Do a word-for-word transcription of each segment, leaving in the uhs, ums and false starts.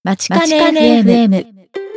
まちかね エフエム。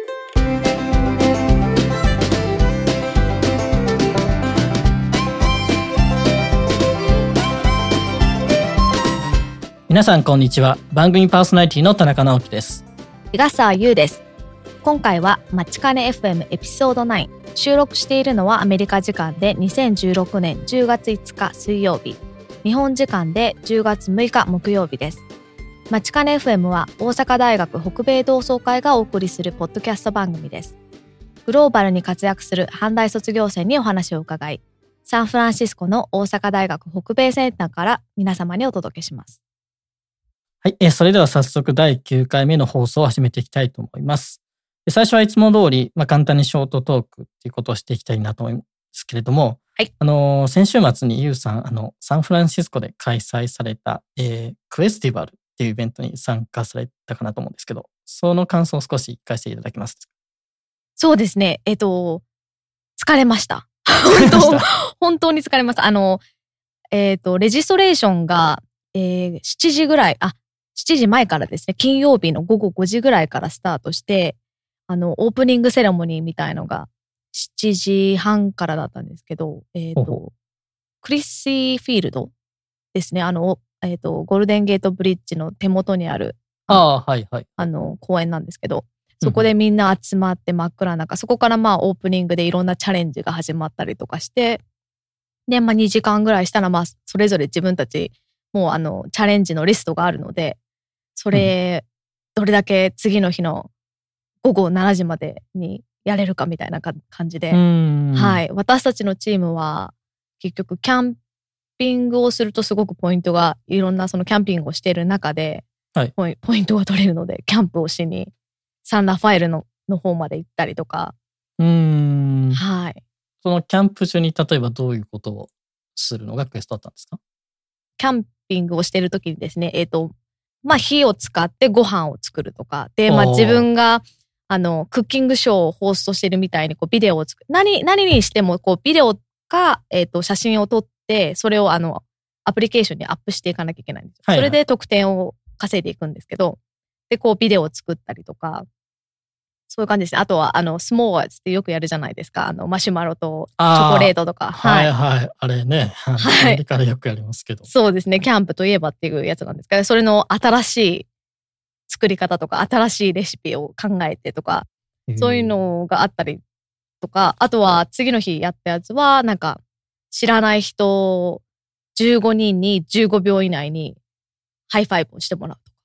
皆さんこんにちは。番組パーソナリティの田中直樹です。 日笠優です。今回はまちかね エフエム エピソードナイン。収録しているのはアメリカ時間でにせんじゅうろくねんじゅうがついつか水曜日、日本時間でじゅうがつむいか木曜日です。まちかね エフエム は大阪大学北米同窓会がお送りするポッドキャスト番組です。グローバルに活躍する阪大卒業生にお話を伺い、サンフランシスコの大阪大学北米センターから皆様にお届けします。 はい、えー、それでは早速だいきゅうかいめの放送を始めていきたいと思います。最初はいつも通り、まあ、簡単にショートトークっていうことをしていきたいなと思うんですけれども、 はい、 あのー、先週末にユウさん、あの、サンフランシスコで開催された、えー、クエスティバルっていうイベントに参加されたかなと思うんですけど、その感想を少し聞かせていただけます。 そうですね。えっと、疲れました。本当、本当に疲れました。あの、えっと、レジストレーションが、えー、しちじぐらい、あ、しちじまえからですね、金曜日のごごごじぐらいからスタートして、あの、オープニングセレモニーみたいのがしちじはんからだったんですけど、えっと、クリッシーフィールドですね、あの、えっと、ゴールデンゲートブリッジの手元にある、 ああ、はいはい。 あの、公園なんですけど、そこでみんな集まって真っ暗な中、そこからまあオープニングでいろんなチャレンジが始まったりとかして、で、まあにじかんぐらいしたら、まあそれぞれ自分たち、もうあの、チャレンジのリストがあるので、それ、どれだけ次の日のごごしちじまでにやれるかみたいな感じで、はい。私たちのチームは、結局キャンピングをするとすごくポイントが、いろんなそのキャンピングをしている中で、 はい、 ポイ、ポイントが取れるので、キャンプをしに、サンラファエルの、の方まで行ったりとか。 うーん。 はい。 そのキャンプ中に例えばどういうことをするのがクエストだったんですか？ キャンピングをしている時にですね、えっと、まあ火を使ってご飯を作るとか、で、まあ自分が、あの、クッキングショーをホーストしてるみたいに、こう、ビデオを作る。何、何にしても、こう、ビデオか、えっと、写真を撮って、それを、あの、アプリケーションにアップしていかなきゃいけないんですよ。はいはい、それで得点を稼いでいくんですけど、で、こう、ビデオを作ったりとか、そういう感じですね。あとは、あの、スモーワーズってよくやるじゃないですか。あの、マシュマロとチョコレートとか。 はいはい。あれね。はい。アメリカでよくやりますけど。 そうですね。キャンプといえばっていうやつなんですけど、それの新しい作り方とか、新しいレシピを考えてとか、そういうのがあったりとか、あとは次の日やったやつは、なんか、知らない人じゅうごにんにじゅうごびょう以内にハイファイブをしてもらうとか。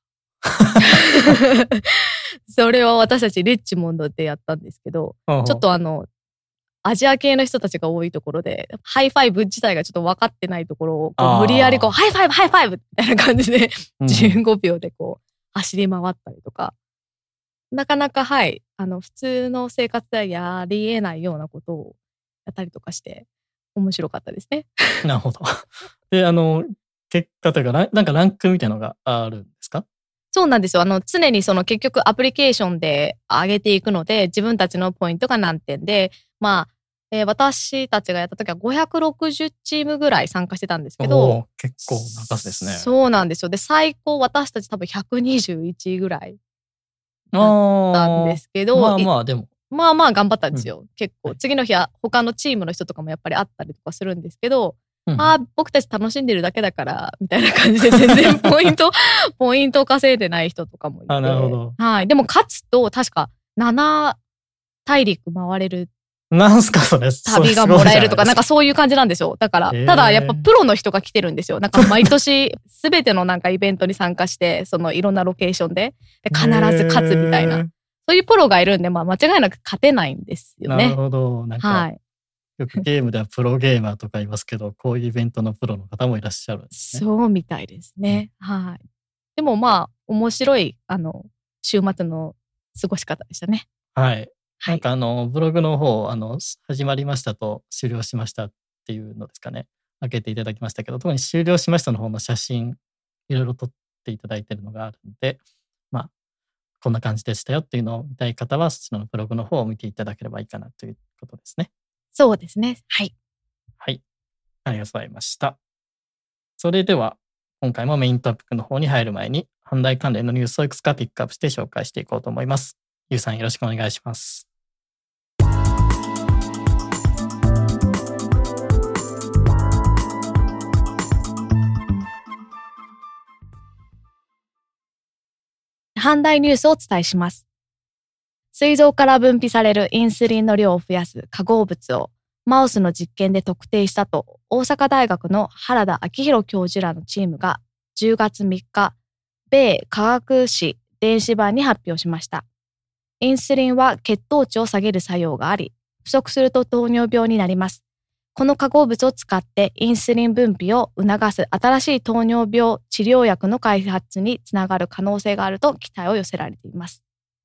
それは私たちリッチモンドでやったんですけど、ちょっとあの、アジア系の人たちが多いところで、ハイファイブ自体がちょっと分かってないところを、こう無理やりこう、ハイファイブハイファイブみたいな感じで、じゅうごびょうでこう、走り回ったりとか、なかなかはい、あの、普通の生活ではやり得ないようなことをやったりとかして、面白かったですね。 なるほど。で、あの、結果というか、なんかランクみたいなのがあるんですか？ そうなんですよ。あの、常にその結局アプリケーションで上げていくので、自分たちのポイントが何点で、まあ、えー、私たちがやった時はごひゃくろくじゅうチームぐらい参加してたんですけど。 結構な数ですね。 そうなんですよ。で、最高私たち多分ひゃくにじゅういちいぐらいだったんですけど。 まあまあでも。 まあまあ頑張ったんですよ。うん、結構。次の日は他のチームの人とかもやっぱりあったりとかするんですけど、うん、ああ、僕たち楽しんでるだけだから、みたいな感じで全然ポイント、ポイント稼いでない人とかもいて。 あ、なるほど。 はい。でも勝つと確かなな大陸回れる。 なんすかそれ。 旅がもらえるとか、なんかそういう感じなんですよ。だから、ただやっぱプロの人が来てるんですよ。なんか毎年すべてのなんかイベントに参加して、そのいろんなロケーションで、で必ず勝つみたいな。そういうプロがいるんで、まあ間違いなく勝てないんですよね。 なるほど。なんか、はい、よくゲームではプロゲーマーとかいますけど、こういうイベントのプロの方もいらっしゃるんですね。 そうみたいですね。うん、はい。でもまあ、面白い、あの、週末の過ごし方でしたね。 はい。なんかあの、ブログの方、あの、始まりましたと終了しましたっていうのですかね。開けていただきましたけど、特に終了しましたの方の写真、いろいろ撮っていただいているのがあるので、まあ、こんな感じでしたよっていうのを見たい方は、そちらのブログの方を見ていただければいいかなということですね。 そうですね。はい。 はい。ありがとうございました。それでは、今回もメイントピックの方に入る前に、 阪大関連のニュースをいくつかピックアップして紹介していこうと思います。ゆうさんよろしくお願いします。 阪大ニュースをお伝えします。膵臓から分泌されるインスリンの量を増やす化合物をマウスの実験で特定したと大阪大学の原田昭弘教授らのチームがじゅうがつみっか、米科学誌電子版に発表しました。インスリンは血糖値を下げる作用があり、不足すると糖尿病になります。この化合物を使ってインスリン分泌を促す新しい糖尿病治療薬の開発につながる可能性があると期待を寄せられています。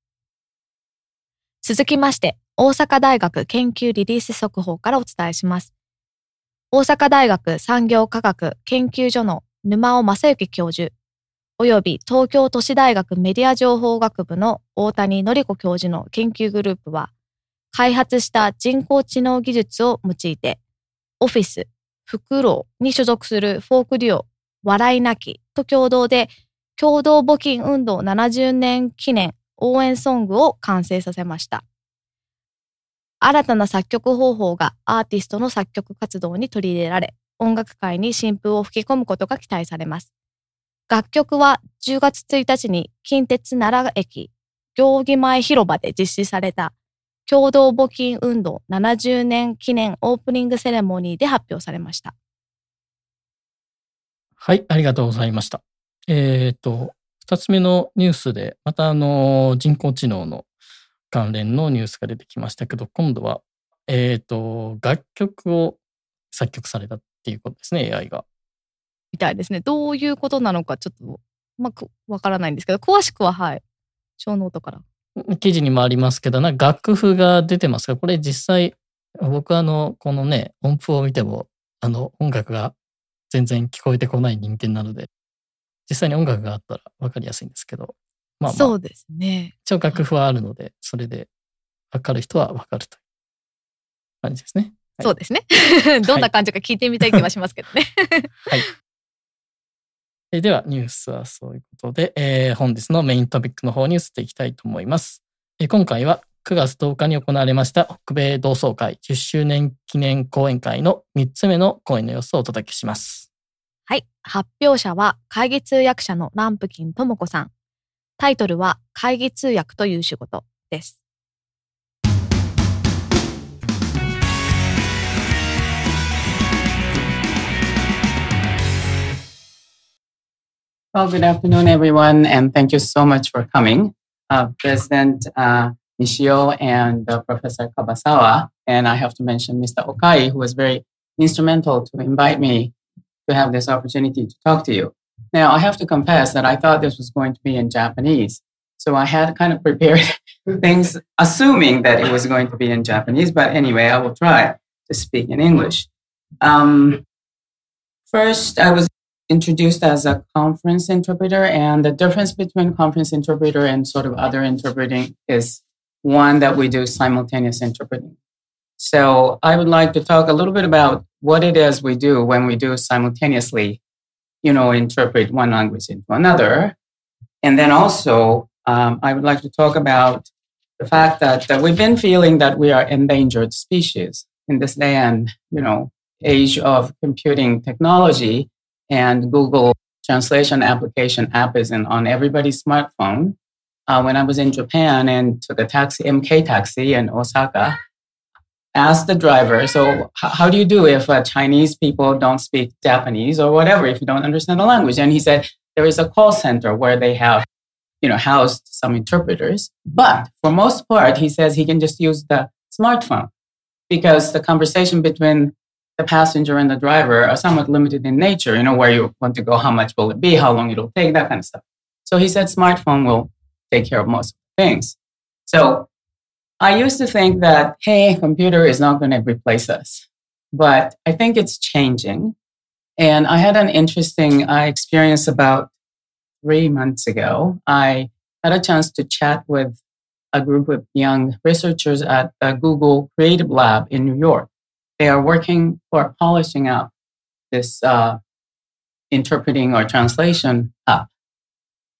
続きまして、大阪大学研究リリース速報からお伝えします。大阪大学産業科学研究所の沼尾正幸教授、および東京都市大学メディア情報学部の大谷典子教授の研究グループは、開発した人工知能技術を用いて、オフィス、フクロウに所属するフォークデュオ、笑い泣きと共同で、共同募金運動ななじゅうねん記念応援ソングを完成させました。新たな作曲方法がアーティストの作曲活動に取り入れられ、音楽界に新風を吹き込むことが期待されます。楽曲はじゅうがつついたちに近鉄奈良駅行儀前広場で実施された共同募金運動ななじゅうねん記念オープニングセレモニーで発表されました。 はい、ありがとうございました。えっと、二つ目のニュースで、またあの人工知能の関連のニュースが出てきましたけど、今度は、えっと、楽曲を作曲されたっていうことですね、エーアイ が。 みたいですね。どういうことなのかちょっと、まあ、わからないんですけど、詳しくは、はい、小ノートから。 記事にもありますけど、なんか楽譜が出てますが、これ実際、僕はあの、このね、音符を見ても、あの、音楽が全然聞こえてこない人間なので、実際に音楽があったら分かりやすいんですけど、まあまあ、 そうですね。 一応楽譜はあるので、それで分かる人は分かるという感じですね。 はい、そうですね。どんな感じか聞いてみたい気はしますけどね。 はい。えでは、ニュースはそういうことで、えー、本日のメイントピックの方に移っていきたいと思います。えー、今回はくがつとおかに行われました北米同窓会じゅっしゅうねん記念講演会のみっつめの講演の様子をお届けします。 はい。発表者は会議通訳者のランプキンともこさん。タイトルは会議通訳という仕事です。 Well, good afternoon, everyone, and thank you so much for coming. Uh, President uh, Nishio and uh, Professor Kabasawa, and I have to mention Mister Okai, who was very instrumental to invite me to have this opportunity to talk to you. Now, I have to confess that I thought this was going to be in Japanese. So I had kind of prepared things assuming that it was going to be in Japanese, but anyway, I will try to speak in English. Um, first, I was introduced as a conference interpreter, and the difference between conference interpreter and sort of other interpreting is one that we do simultaneous interpreting. So I would like to talk a little bit about what it is we do when we do simultaneously, you know, interpret one language into another. And then also, um, I would like to talk about the fact that, that we've been feeling that we are endangered species in this day and, you know, age of computing technology, and Google translation application app is in, on everybody's smartphone. Uh, when I was in Japan and took a taxi, M K taxi in Osaka, asked the driver, so h- how do you do if uh, Chinese people don't speak Japanese or whatever, if you don't understand the language? And he said, there is a call center where they have, you know, housed some interpreters. But for most part, he says he can just use the smartphone because the conversation between the passenger and the driver are somewhat limited in nature, you know, where you want to go, how much will it be, how long it'll take, that kind of stuff. So he said smartphone will take care of most things. So I used to think that, hey, computer is not going to replace us. But I think it's changing. And I had an interesting uh, experience about three months ago. I had a chance to chat with a group of young researchers at the Google Creative Lab in New York. They are working for polishing out this uh, interpreting or translation app.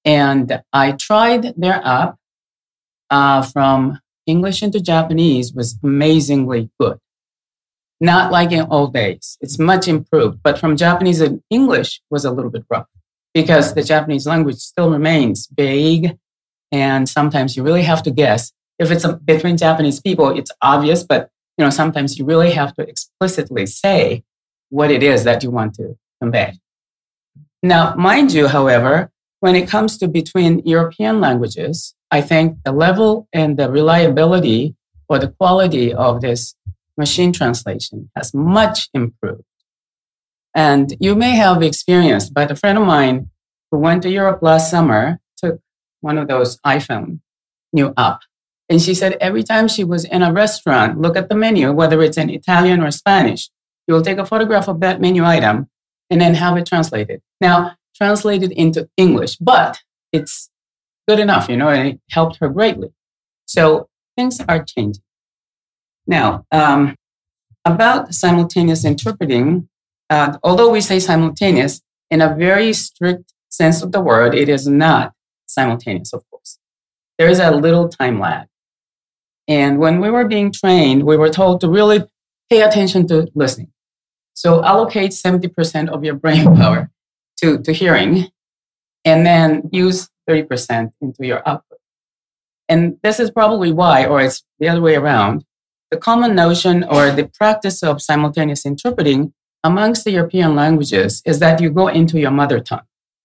And I tried their app uh, from English into Japanese was amazingly good. Not like in old days. It's much improved. But from Japanese and English was a little bit rough because the Japanese language still remains vague. And sometimes you really have to guess. If it's a, between Japanese people, it's obvious, but you know, sometimes you really have to explicitly say what it is that you want to convey. Now, mind you, however, when it comes to between European languages, I think the level and the reliability or the quality of this machine translation has much improved. And you may have experienced, but a friend of mine who went to Europe last summer took one of those iPhone new app. And she said every time she was in a restaurant, look at the menu, whether it's in Italian or Spanish, you'll take a photograph of that menu item and then have it translated. Now, translated into English, but it's good enough, you know, and it helped her greatly. So things are changing. Now, um, about simultaneous interpreting, uh, although we say simultaneous, in a very strict sense of the word, it is not simultaneous, of course. There is a little time lag. And when we were being trained, we were told to really pay attention to listening. So allocate seventy percent of your brain power to, to hearing, and then use thirty percent into your output. And this is probably why, or it's the other way around, the common notion or the practice of simultaneous interpreting amongst the European languages is that you go into your mother tongue.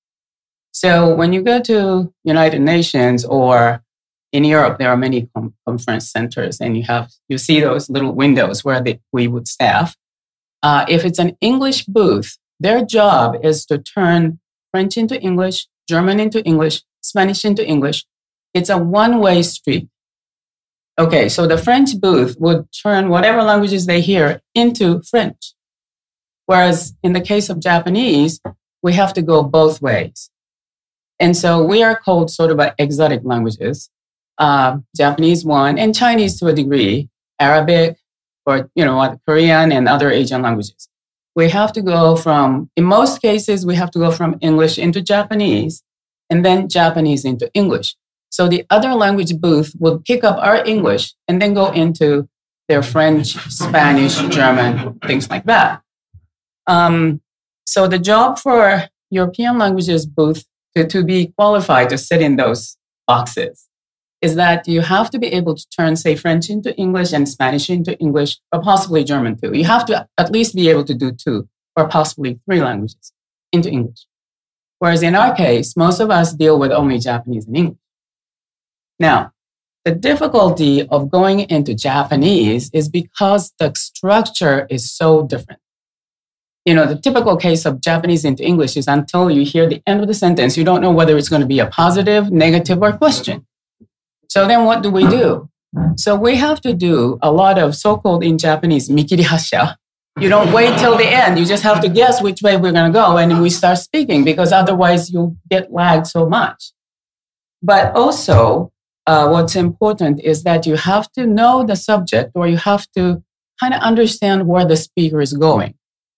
So when you go to United Nations or in Europe, there are many com- conference centers, and you have you see those little windows where they, we would staff. Uh, if it's an English booth, their job is to turn French into English, German into English, Spanish into English. It's a one-way street. Okay, so the French booth would turn whatever languages they hear into French. Whereas in the case of Japanese, we have to go both ways. And so we are called sort of exotic languages. Uh, Japanese one, and Chinese to a degree, Arabic, or, you know, Korean and other Asian languages. We have to go from, in most cases, we have to go from English into Japanese and then Japanese into English. So the other language booth will pick up our English and then go into their French, Spanish, German, things like that. Um, so the job for European languages booth to, to be qualified to sit in those boxes is that you have to be able to turn, say, French into English and Spanish into English, or possibly German too. You have to at least be able to do two or possibly three languages into English. Whereas in our case, most of us deal with only Japanese and English. Now, the difficulty of going into Japanese is because the structure is so different. You know, the typical case of Japanese into English is until you hear the end of the sentence, you don't know whether it's going to be a positive, negative, or question. So then what do we do? So we have to do a lot of so-called in Japanese, mikiri hasha. You don't wait till the end. You just have to guess which way we're going to go. And we start speaking because otherwise you'll get lagged so much. But also, uh, what's important is that you have to know the subject, or you have to kind of understand where the speaker is going.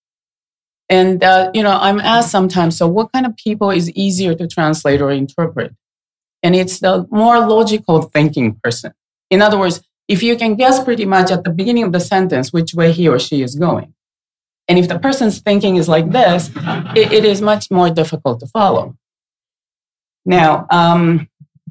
And, uh, you know, I'm asked sometimes, so what kind of people is easier to translate or interpret? And it's the more logical thinking person. In other words, if you can guess pretty much at the beginning of the sentence which way he or she is going. And if the person's thinking is like this, it, it is much more difficult to follow. Now, um,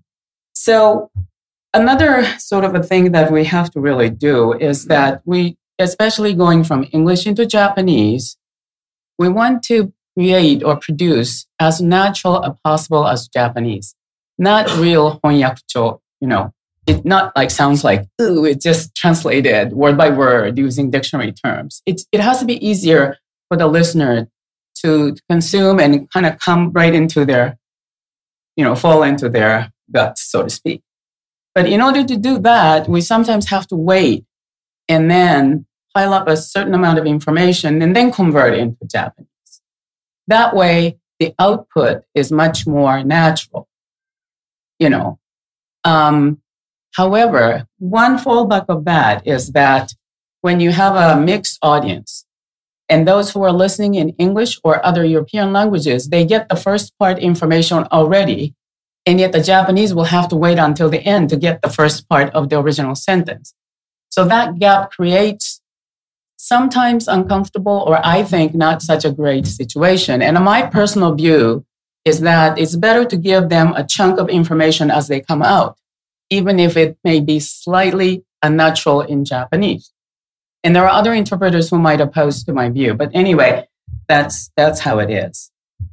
so another sort of a thing that we have to really do is that we, especially going from English into Japanese, we want to create or produce as natural as possible as Japanese. Not real honyakucho, you know, it not like sounds like, ooh, it just translated word by word using dictionary terms. It, it has to be easier for the listener to consume and kind of come right into their, you know, fall into their guts, so to speak. But in order to do that, we sometimes have to wait and then pile up a certain amount of information and then convert it into Japanese. That way, the output is much more natural. You know, um, however, one fallback of that is that when you have a mixed audience and those who are listening in English or other European languages, they get the first part information already And yet the Japanese will have to wait until the end to get the first part of the original sentence. So that gap creates sometimes uncomfortable, or I think not such a great situation. And my personal view is that it's better to give them a chunk of information as they come out, even if it may be slightly unnatural in Japanese. And there are other interpreters who might oppose to my view. But anyway, that's that's how it is.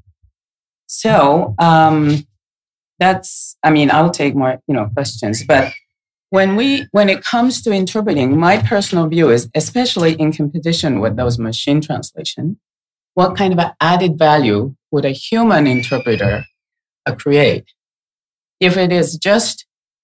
So um, that's, I mean, I'll take more, you know, questions. But when we, when it comes to interpreting, my personal view is, especially in competition with those machine translation, what kind of an added value would a human interpreter uh, create? If it is just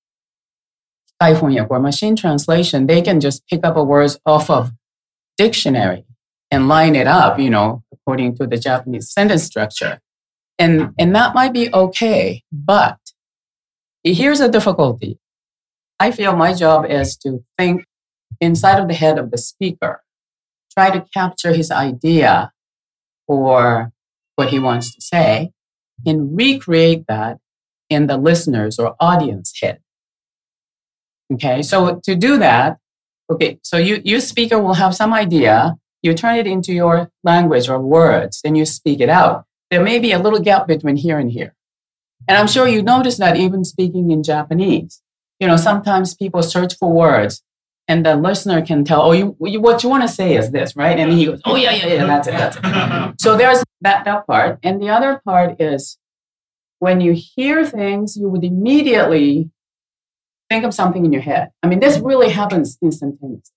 or machine translation, they can just pick up a words off of dictionary and line it up, you know, according to the Japanese sentence structure. And, and that might be okay, but here's a difficulty. I feel my job is to think inside of the head of the speaker, try to capture his idea or what he wants to say, and recreate that in the listener's or audience head. Okay, so to do that, okay, so you, you speaker will have some idea, you turn it into your language or words, then you speak it out. There may be a little gap between here and here. And I'm sure you notice that even speaking in Japanese. You know, sometimes people search for words and the listener can tell, oh, you, you what you want to say is this, right? And he goes, oh, yeah, yeah, yeah, that's it, that's it. So there's that, that part. And the other part is when you hear things, you would immediately think of something in your head. I mean, this really happens instantaneously.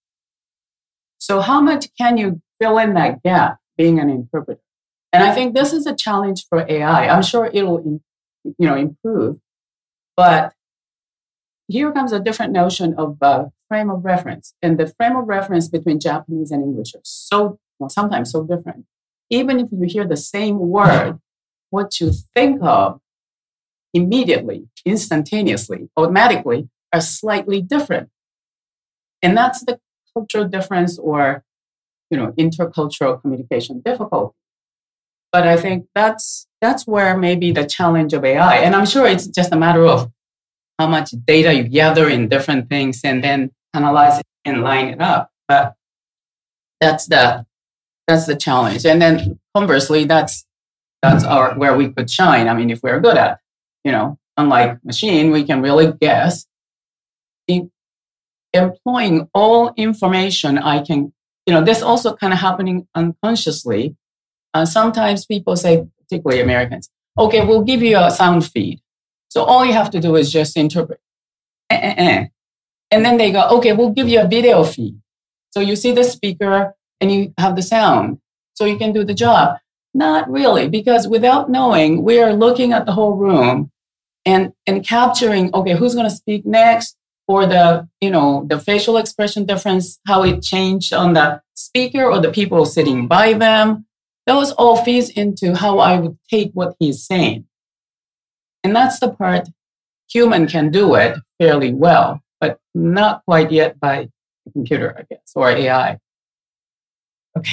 So how much can you fill in that gap being an interpreter? And I think this is a challenge for A I. I'm sure it'll, you know, improve. But here comes a different notion of uh, frame of reference. And the frame of reference between Japanese and English are so, well, sometimes so different. Even if you hear the same word, what you think of immediately, instantaneously, automatically, are slightly different. And that's the cultural difference or, you know, intercultural communication difficulty. But I think that's that's where maybe the challenge of A I. And I'm sure it's just a matter of how much data you gather in different things and then analyze it and line it up. But that's the that's the challenge. And then conversely, that's that's our where we could shine. I mean, if we're good at it, you know, unlike machine, we can really guess. In employing all information I can, you know, this also kind of happening unconsciously. Uh, sometimes people say, particularly Americans, okay, we'll give you a sound feed. So all you have to do is just interpret. Eh, eh, eh. And then they go, okay, we'll give you a video feed. So you see the speaker and you have the sound. So you can do the job. Not really, because without knowing, we are looking at the whole room and, and capturing, okay, who's going to speak next? Or the, you know, the facial expression difference, how it changed on the speaker or the people sitting by them. Those all feeds into how I would take what he's saying. And that's the part human can do it fairly well, but not quite yet by the computer, I guess, or A I. Okay.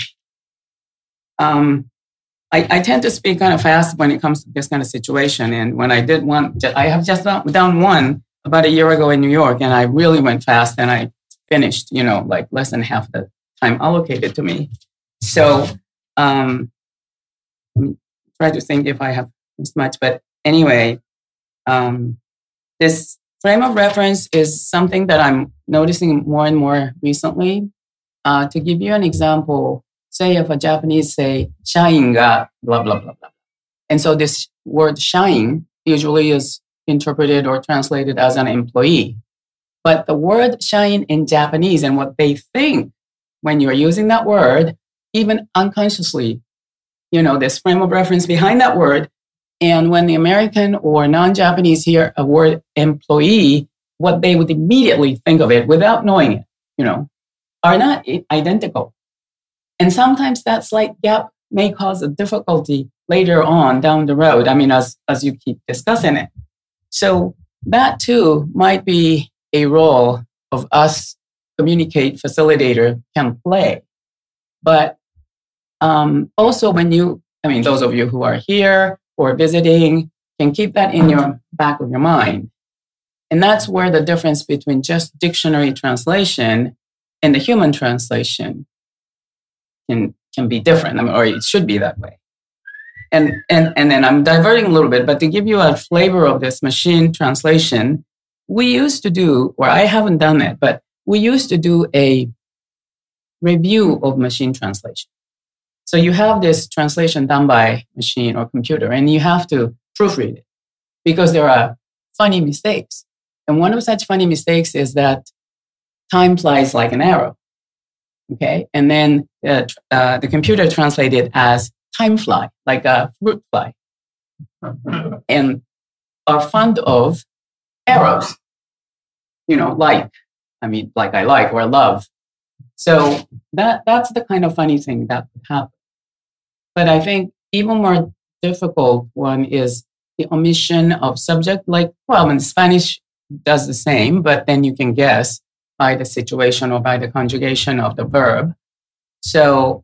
Um, I, I tend to speak kind of fast when it comes to this kind of situation. And when I did one, I have just done one about a year ago in New York, and I really went fast and I finished, you know, like less than half the time allocated to me. So, um, try to think if I have missed much, but anyway, um, this frame of reference is something that I'm noticing more and more recently. Uh, to give you an example, say if a Japanese say, shain ga blah, blah, blah, blah. And so this word shain usually is interpreted or translated as an employee. But the word shain in Japanese and what they think when you're using that word, even unconsciously, you know, this frame of reference behind that word. And when the American or non-Japanese hear a word employee, what they would immediately think of it without knowing it, you know, are not identical. And sometimes that slight gap may cause a difficulty later on down the road. I mean, as, as you keep discussing it. So that too might be a role of us communicate facilitator can play. But um, also when you, I mean, those of you who are here or visiting, can keep that in your back of your mind. And that's where the difference between just dictionary translation and the human translation can, can be different, I mean, or it should be that way. And, and, and then I'm diverting a little bit, but to give you a flavor of this machine translation, we used to do, or I haven't done it, but we used to do a review of machine translation. So you have this translation done by machine or computer, and you have to proofread it because there are funny mistakes. And one of such funny mistakes is that time flies like an arrow. Okay. And then uh, uh, the computer translated as time fly, like a fruit fly, and are fond of arrows, you know, like, I mean, like I like or love. So that that's the kind of funny thing that could happen. But I think even more difficult one is the omission of subject. Like, well, in Spanish does the same, but then you can guess by the situation or by the conjugation of the verb. So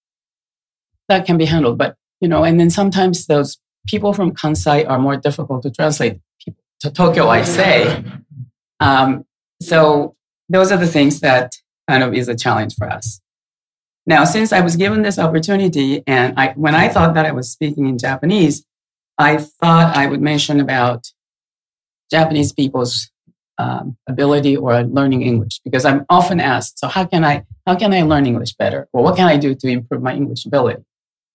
that can be handled. But, you know, and then sometimes those people from Kansai are more difficult to translate to Tokyo, I say. Um, so those are the things that kind of is a challenge for us. Now, since I was given this opportunity, and I, when I thought that I was speaking in Japanese, I thought I would mention about Japanese people's um, ability or learning English, because I'm often asked, so how can I how can I learn English better? Or what can I do to improve my English ability?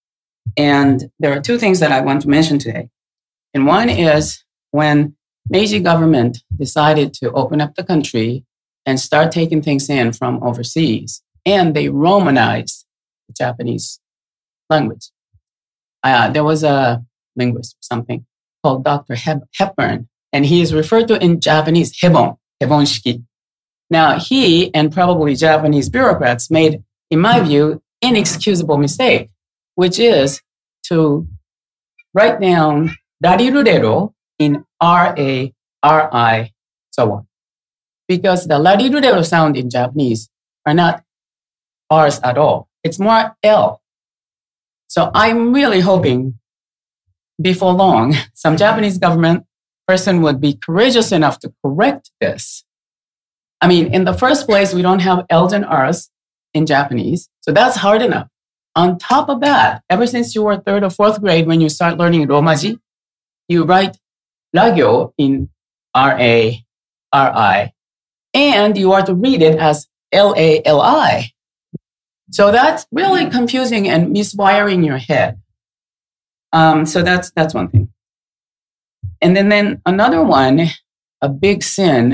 And there are two things that I want to mention today. And one is when Meiji government decided to open up the country and start taking things in from overseas, and they Romanized the Japanese language. Uh, there was a linguist or something called Doctor Hep- Hepburn, and he is referred to in Japanese Hebon, Hebonshiki. Now, he and probably Japanese bureaucrats made, in my view, inexcusable mistake, which is to write down rarirurero in R A R I, so on. Because the rarirurero sound in Japanese are not R's at all. It's more L. So I'm really hoping before long, some Japanese government person would be courageous enough to correct this. I mean, in the first place, we don't have L's and R's in Japanese, so that's hard enough. On top of that, ever since you were third or fourth grade, when you start learning Romaji, you write ragyo in R A R I, and you are to read it as L A L I. So that's really confusing and miswiring your head. Um, so that's that's one thing. And then, then another one, a big sin,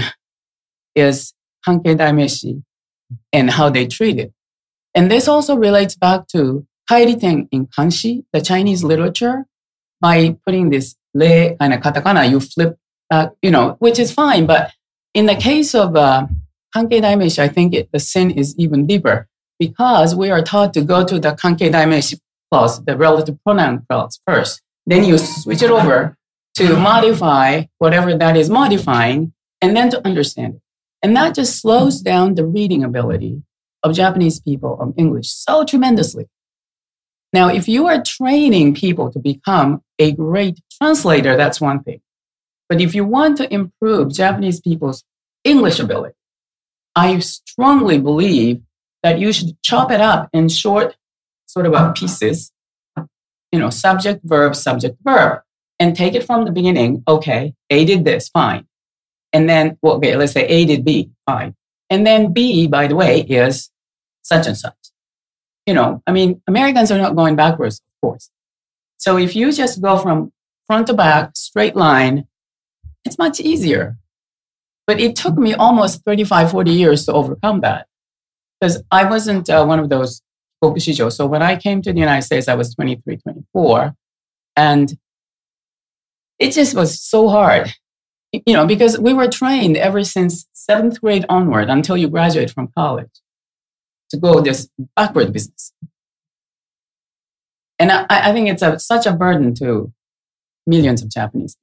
is Hankei Daimeshi and how they treat it. And this also relates back to kairiten in kanshi, the Chinese literature, by putting this re kind of katakana, you flip back, you know, which is fine. But in the case of uh, Hankei Daimeshi, I think it, the sin is even deeper because we are taught to go to the Hankei Daimeshi clause, the relative pronoun clause first. Then you switch it over to modify whatever that is modifying, and then to understand it. And that just slows down the reading ability of Japanese people of English so tremendously. Now, if you are training people to become a great translator, that's one thing. But if you want to improve Japanese people's English ability, I strongly believe that you should chop it up in short sort of uh, pieces, you know, subject, verb, subject, verb, and take it from the beginning. Okay, A did this, fine. And then, well, okay, let's say A did B, fine. And then B, by the way, is such and such. You know, I mean, Americans are not going backwards, of course. So if you just go from front to back, straight line, it's much easier. But it took me almost thirty-five, forty years to overcome that. Because I wasn't uh, one of those kokushijo. So when I came to the United States, I was twenty-three, twenty-four. And it just was so hard. You know, because we were trained ever since seventh grade onward until you graduate from college to go this backward business. And I, I think it's a, such a burden to millions of Japanese.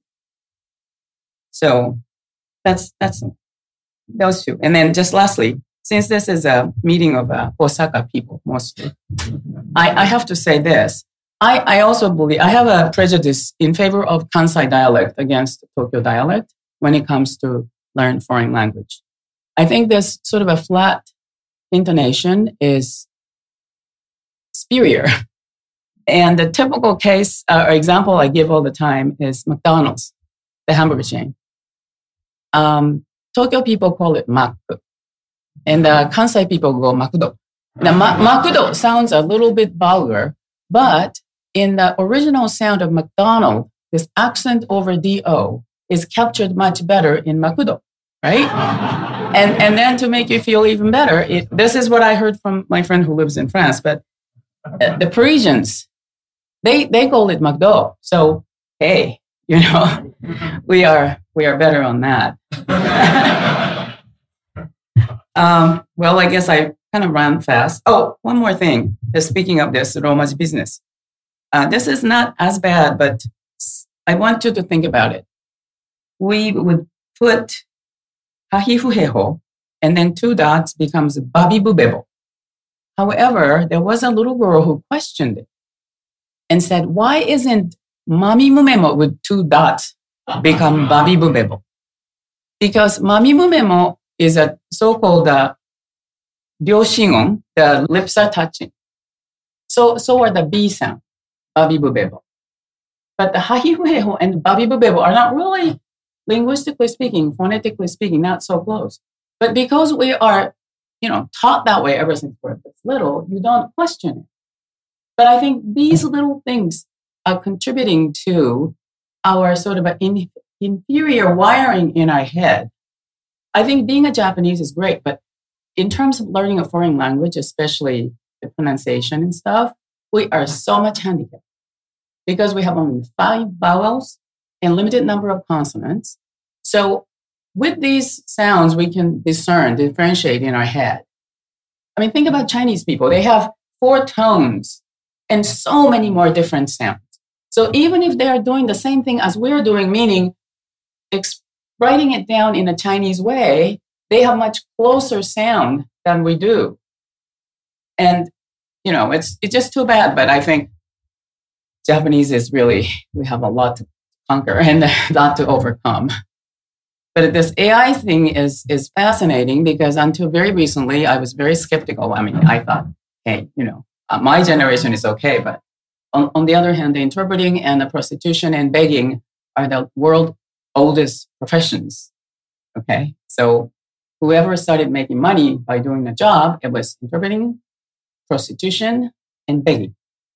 So that's that's those two. And then just lastly, since this is a meeting of uh, Osaka people mostly, I, I have to say this. I, I also believe, I have a prejudice in favor of Kansai dialect against Tokyo dialect when it comes to learn foreign language. I think this sort of a flat intonation is superior. And the typical case uh, or example I give all the time is McDonald's, the hamburger chain. Um, Tokyo people call it Mac, and uh, Kansai people go Makudo. Now, Ma- Makudo sounds a little bit vulgar, but in the original sound of McDonald, this accent over D O is captured much better in Makudo, right? And and then to make you feel even better, it, this is what I heard from my friend who lives in France, but uh, the Parisians, they they call it McDo. So, hey, you know, we are we are better on that. um, well, I guess I kind of ran fast. Oh, one more thing. Speaking of this Romaji business. Uh, this is not as bad, but I want you to think about it. We would put hahifuheho, and then two dots becomes babibubebo. However, there was a little girl who questioned it and said, why isn't mamimumemo with two dots become babibubebo? Because mamimumemo is a so-called uh, ryoshingon, the lips are touching. So, so are the B sound. Babibubebo. But the hahifuheho and babibubebo are not really, linguistically speaking, phonetically speaking, not so close. But because we are, you know, taught that way ever since we're little, you don't question it. But I think these little things are contributing to our sort of an in, inferior wiring in our head. I think being a Japanese is great, but in terms of learning a foreign language, especially the pronunciation and stuff, we are so much handicapped because we have only five vowels and limited number of consonants. So with these sounds, we can discern, differentiate in our head. I mean, think about Chinese people. They have four tones and so many more different sounds. So even if they are doing the same thing as we're doing, meaning ex- writing it down in a Chinese way, they have much closer sound than we do. And you know, it's it's just too bad, but I think Japanese is really, we have a lot to conquer and a lot to overcome. But this A I thing is is fascinating because until very recently, I was very skeptical. I mean, I thought, hey, you know, uh, my generation is okay, but on, on the other hand, the interpreting and the prostitution and begging are the world's oldest professions, okay? So whoever started making money by doing the job, it was interpreting, prostitution, and begging.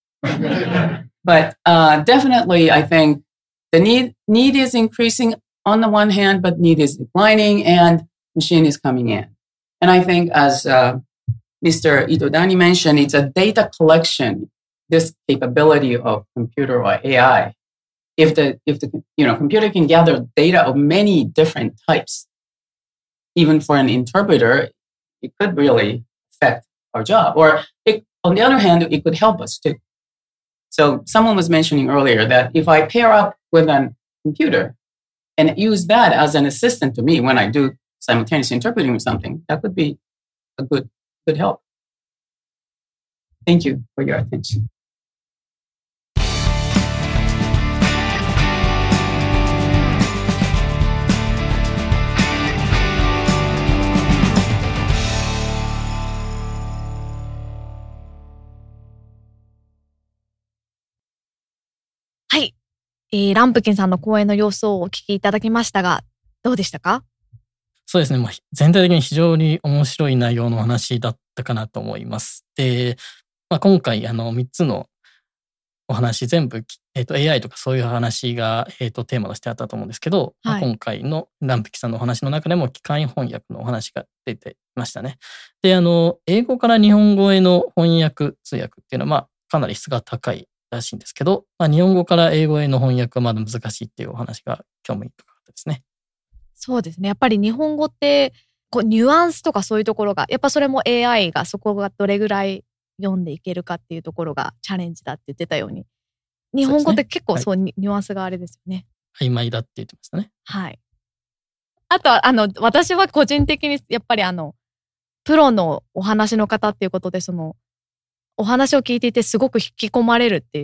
But uh, definitely, I think the need need is increasing on the one hand, but need is declining, and machine is coming in. And I think, as uh, Mister Itodani mentioned, it's a data collection. This capability of computer or A I, if the if the you know computer can gather data of many different types, even for an interpreter, it could really affect our job. Or it, on the other hand, it could help us too. So someone was mentioning earlier that if I pair up with a computer and use that as an assistant to me when I do simultaneous interpreting of something, that could be a good good help. Thank you for your attention. はい、えー、ランプキンさんの講演の様子をお聞きいただきましたが、どうでしたか？ そうですね、まあ、全体的に非常に面白い内容のお話だったかなと思います。で、まあ、今回あのみっつのお話全部、えーと、エーアイ とかそういう話が、えーと、テーマとしてあったと思うんですけど、はい、まあ、今回のランプキンさんのお話の中でも機械翻訳のお話が出ていましたね。で、あの英語から日本語への翻訳通訳っていうのは、まあ、かなり質が高いらしいんですけど、まあ、日本語から英語への翻訳はまだ難しいっていうお話が興味深かったですね。 そうですね。やっぱり日本語ってこうニュアンスとかそういうところがやっぱそれも エーアイ がそこがどれぐらい読んでいけるかっていうところがチャレンジだって言ってたように、日本語って結構そう、ね、はい、ニュアンスがあれですよね。 曖昧だって言ってましたね。 はい。あとはあの私は個人的にやっぱりあのプロのお話の方っていうことでそのお話を聞いていてすごく引き込まれるっていう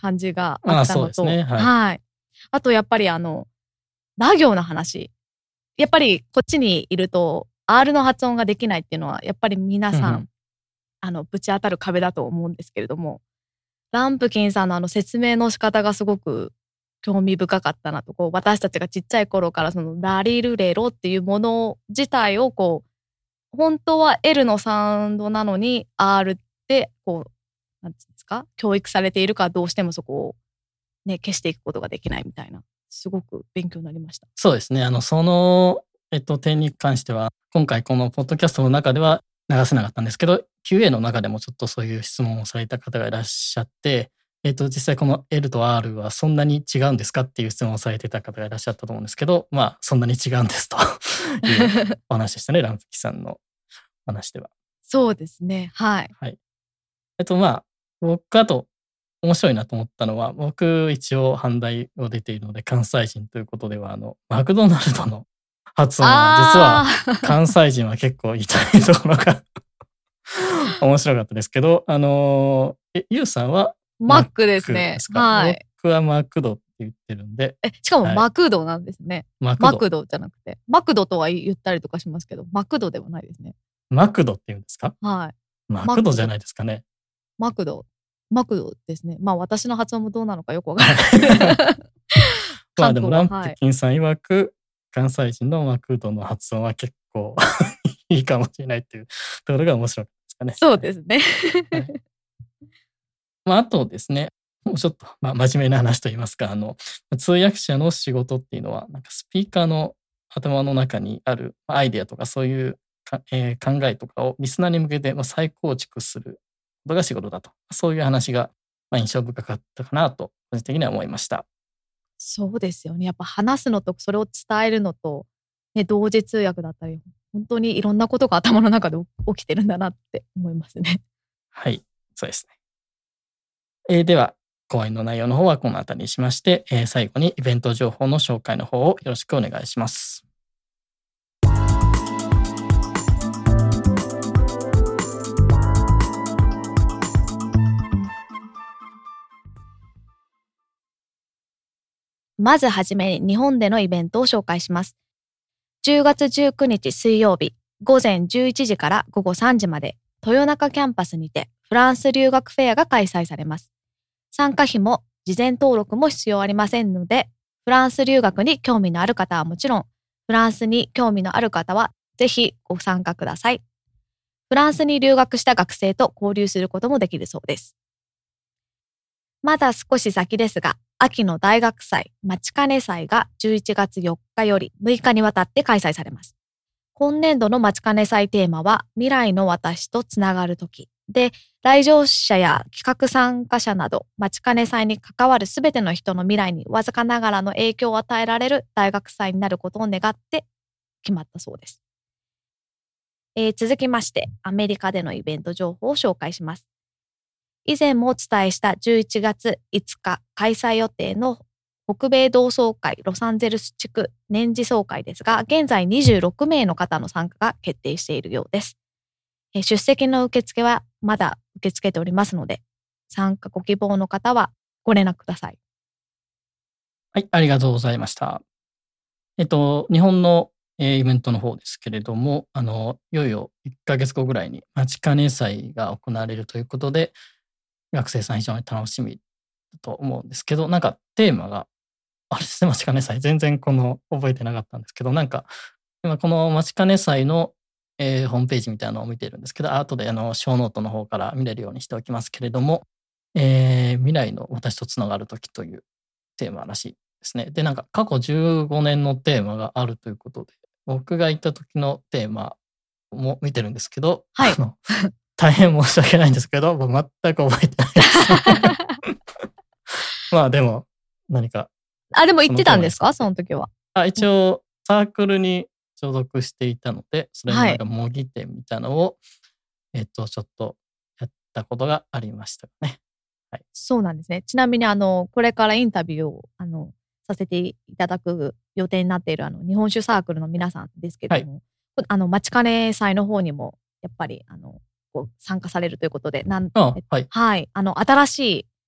感じがあったのと、 あ、そうですね、はい、 はい。あとやっぱりあの、ラ行の話。やっぱりこっちにいると R の発音ができないっていうのはやっぱり皆さん、うんうん、あのぶち当たる壁だと思うんですけれども、ランプキンさんのあの説明の仕方がすごく興味深かったなと、こう私たちがちっちゃい頃からそのラリルレロっていうもの自体をこう本当は L のサウンドなのに R ってこうなんていうんですか、教育されているからどうしてもそこをね消していくことができないみたいな、すごく勉強になりました。 そうですね。あのそのえっと点に関しては今回このポッドキャストの中では流せなかったんですけど、 キューエー の中でもちょっとそういう質問をされた方がいらっしゃって、えっと実際この L と R はそんなに違うんですかっていう質問をされてた方がいらっしゃったと思うんですけど、まあそんなに違うんですというお話でしたね。ランプキさんの話では。 そうですね、はい、 はい。えっとまあ僕あと面白いなと思ったのは、僕一応阪大を出ているので関西人ということでは、あのマクドナルドの発音は実は関西人は結構痛いところが面白かったですけど、あのえユウさんはマックですね。はい。 僕はマクドって言ってるんで。 え、しかもマクドなんですね。 はい、 マクド。マクドじゃなくて、マクドとは言ったりとかしますけど、マクドではないですね。 マクドって言うんですか？ はい。 マクドじゃないですかね。 マクド。マクドですね。まあ私の発音もどうなのかよくわからない。 まあでもランプキンさん曰く、はい、関西人のマクドの発音は結構いいかもしれないっていうところが面白いですかね。 そうですね。はい、 まああとですね、もうちょっと、まあ、真面目な話といいますか、あの通訳者の仕事っていうのはなんかスピーカーの頭の中にあるアイデアとかそういうか、えー、考えとかをリスナーに向けて再構築することが仕事だと、そういう話が印象深かったかなと個人的には思いました。 そうですよね。やっぱ話すのとそれを伝えるのと、ね、同時通訳だったり、本当にいろんなことが頭の中で起きてるんだなって思いますね。 はい、そうですね。えー、では講演の内容の方はこの辺りにしまして、えー、最後にイベント情報の紹介の方をよろしくお願いします。 まずはじめに日本でのイベントを紹介します。じゅうがつじゅうくにち水曜日、午前じゅういちじから午後さんじまで、豊中キャンパスにてフランス留学フェアが開催されます。参加費も事前登録も必要ありませんので、フランス留学に興味のある方はもちろん、フランスに興味のある方はぜひご参加ください。フランスに留学した学生と交流することもできるそうです。まだ少し先ですが、秋の大学祭、待ちかね祭がじゅういちがつよっかよりむいかにわたって開催されます。今年度の待ちかね祭テーマは、未来の私とつながるときで、来場者や企画参加者など、待ちかね祭に関わるすべての人の未来にわずかながらの影響を与えられる大学祭になることを願って決まったそうです。えー、続きまして、アメリカでのイベント情報を紹介します。以前もお伝えしたじゅういちがついつか開催予定の北米同窓会ロサンゼルス地区年次総会ですが、現在にじゅうろくめいの方の参加が決定しているようです。出席の受付はまだ受け付けておりますので、参加ご希望の方はご連絡ください。 はい、ありがとうございました。えっと、日本のイベントの方ですけれども、あの、いよいよいっかげつごぐらいに待ちかね祭が行われるということで、学生さん非常に楽しみだと思うんですけど、なんかテーマが、あれですね、待ちかね祭、全然この覚えてなかったんですけど、なんか今この待ちかね祭の、えー、ホームページみたいなのを見てるんですけど、後であのショーノートの方から見れるようにしておきますけれども、えー、未来の私とつながるときというテーマらしいですね。で、なんか過去じゅうごねんのテーマがあるということで、僕が行った時のテーマも見てるんですけど、 はい、 あの大変申し訳ないんですけど、全く覚えてないです。まあでも、何か。 あ、でも行ってたんですか、その時は。 あ、一応、サークルに所属していたので、それのなんか模擬店みたいなのを、はい、えっと、ちょっとやったことがありましたね。はい。 そうなんですね。ちなみに、あの、これからインタビューを、あの、させていただく予定になっている、あの、日本酒サークルの皆さんですけども、はい、あの、待ちかね祭の方にも、やっぱり、あの、参加されるということで、なんああ、はい、 はい、あの新しい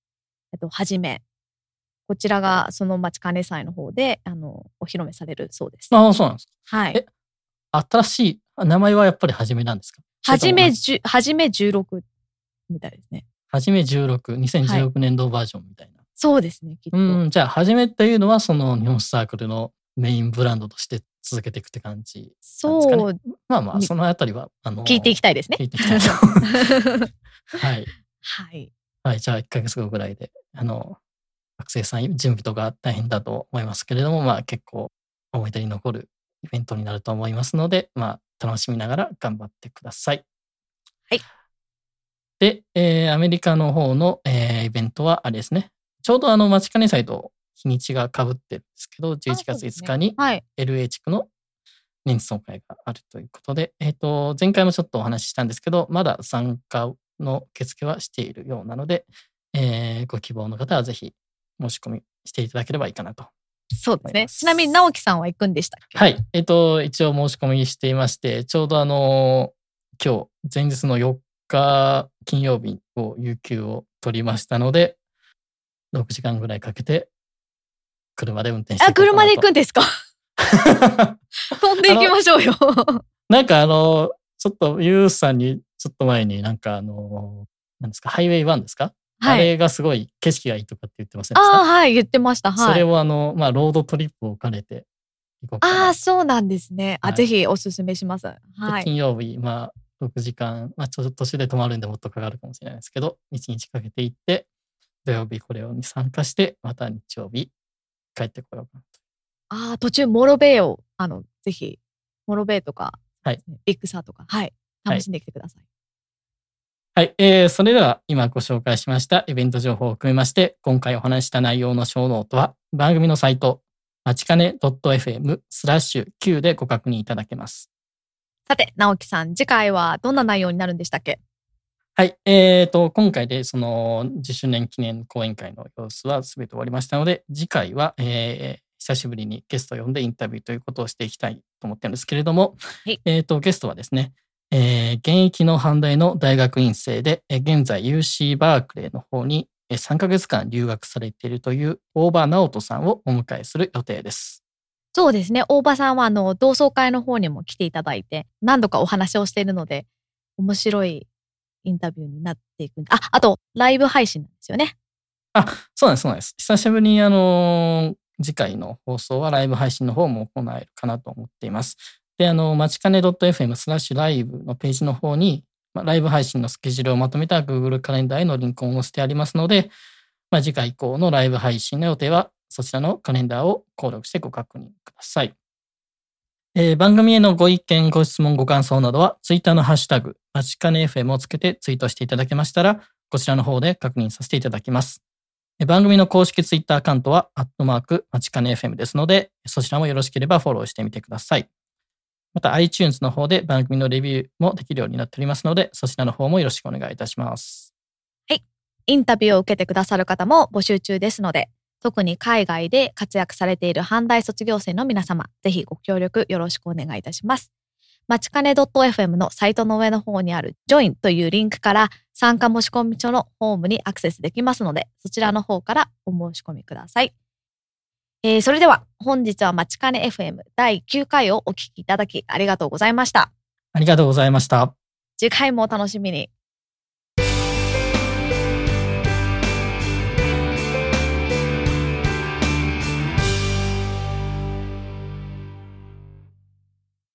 えっと、はじめ。こちらがその待ちかね祭の方で、あの、お披露目されるそうです。 ああ、そうなんですか。 はい。 え、新しい、名前はやっぱりはじめなんですか？ はじめじゅ、はじめじゅうろくみたいですね。 はじめじゅうろく、にせんじゅうろくねんどバージョンみたいな。はい、 そうですね、きっと。 うん、じゃあ、はじめっていうのは、その日本サークルのメインブランドとして続けていくって感じなんですかね。そう。まあまあ、そのあたりは、 あのー、聞いていきたいですね。 聞いていきたいと。はい。 はい。 はい、じゃあいっかげつごぐらいで、あの、学生さん準備とか大変だと思いますけれども、まあ結構思い出に残るイベントになると思いますので、まあ楽しみながら頑張ってください。 はい。 で、えー、アメリカの方の、えー、イベントはあれですね。ちょうどあの、待ちかね祭と日にちが被ってるんですけど、じゅういちがついつかに エルエー 地区の年次総会があるということで、えっと、前回もちょっとお話ししたんですけど、まだ参加の受付はしているようなので、えー、ご希望の方はぜひ申し込みしていただければいいかなと。 そうですね。ちなみに直樹さんは行くんでしたっけ？ はい。えっと、一応申し込みしていまして、ちょうどあの、今日、前日のよっか金曜日を有給を取りましたので、ろくじかんぐらいかけて、車で運転していこうかなと。 あ、車で行くんですか？飛んで行きましょうよ。 なんかあの、ちょっとユースさんにちょっと前になんかあの、何ですか、ハイウェイワンですか？はい、あれがすごい景色がいいとかって言ってませんでした？ ああ、はい、言ってました。はい。 それをあの、まあ、ロードトリップを兼ねて行こうかな。 ああ、そうなんですね。あ、はい、ぜひおすすめします。はい。 金曜日、まあ、ろくじかん、まあ、ちょっと途中で泊まるんでもっとかかるかもしれないですけど、いちにちかけて行って、土曜日これに参加して、また日曜日帰ってこようかなと。 ああ、途中モロベイを、あの、ぜひ、モロベイとか、 はい、 ビッグサーとか、はい、楽しんできてください。 はい、はい、えー、それでは今ご紹介しましたイベント情報を含めまして、今回お話した内容の小ノートは番組のサイト、まちかね .fm スラッシュ Q でご確認いただけます。 さて、直樹さん、次回はどんな内容になるんでしたっけ？ はい、えーと、今回でそのじゅっしゅうねん記念講演会の様子は全て終わりましたので、次回は、えー、久しぶりにゲストを呼んでインタビューということをしていきたいと思ってるんですけれども、 はい、 えーと、ゲストはですね、えー、現役の阪大の大学院生で、現在 ユーシー バークレーの方にさんかげつかん留学されているという大場直人さんをお迎えする予定です。 そうですね。大場さんはあの同窓会の方にも来ていただいて、何度かお話をしているので、面白いインタビューになっていく。あ、あとライブ配信なんですよね。 あ、そうなんです、そうなんです。久しぶりにあの次回の放送はライブ配信の方も行えるかなと思っています。で、あの、まちかね .fm スラッシュライブのページの方に、まあ、ライブ配信のスケジュールをまとめた Google カレンダーへのリンクを載せてありますので、まあ、次回以降のライブ配信の予定は、そちらのカレンダーを購読してご確認ください。えー、番組へのご意見、ご質問、ご感想などは、Twitter のハッシュタグ、まちかね エフエム をつけてツイートしていただけましたら、こちらの方で確認させていただきます。番組の公式 Twitter アカウントは、アットマーク、まちかね エフエム ですので、そちらもよろしければフォローしてみてください。また iTunes の方で番組のレビューもできるようになっておりますので、そちらの方もよろしくお願いいたします。 はい。インタビューを受けてくださる方も募集中ですので、特に海外で活躍されている阪大卒業生の皆様、ぜひご協力よろしくお願いいたします。まちかね .fm のサイトの上の方にある Join というリンクから参加申し込み書のホームにアクセスできますので、そちらの方からお申し込みください。えー、それでは本日はまちかね エフエム だいきゅうかいをお聞きいただきありがとうございました。 ありがとうございました。 次回もお楽しみに。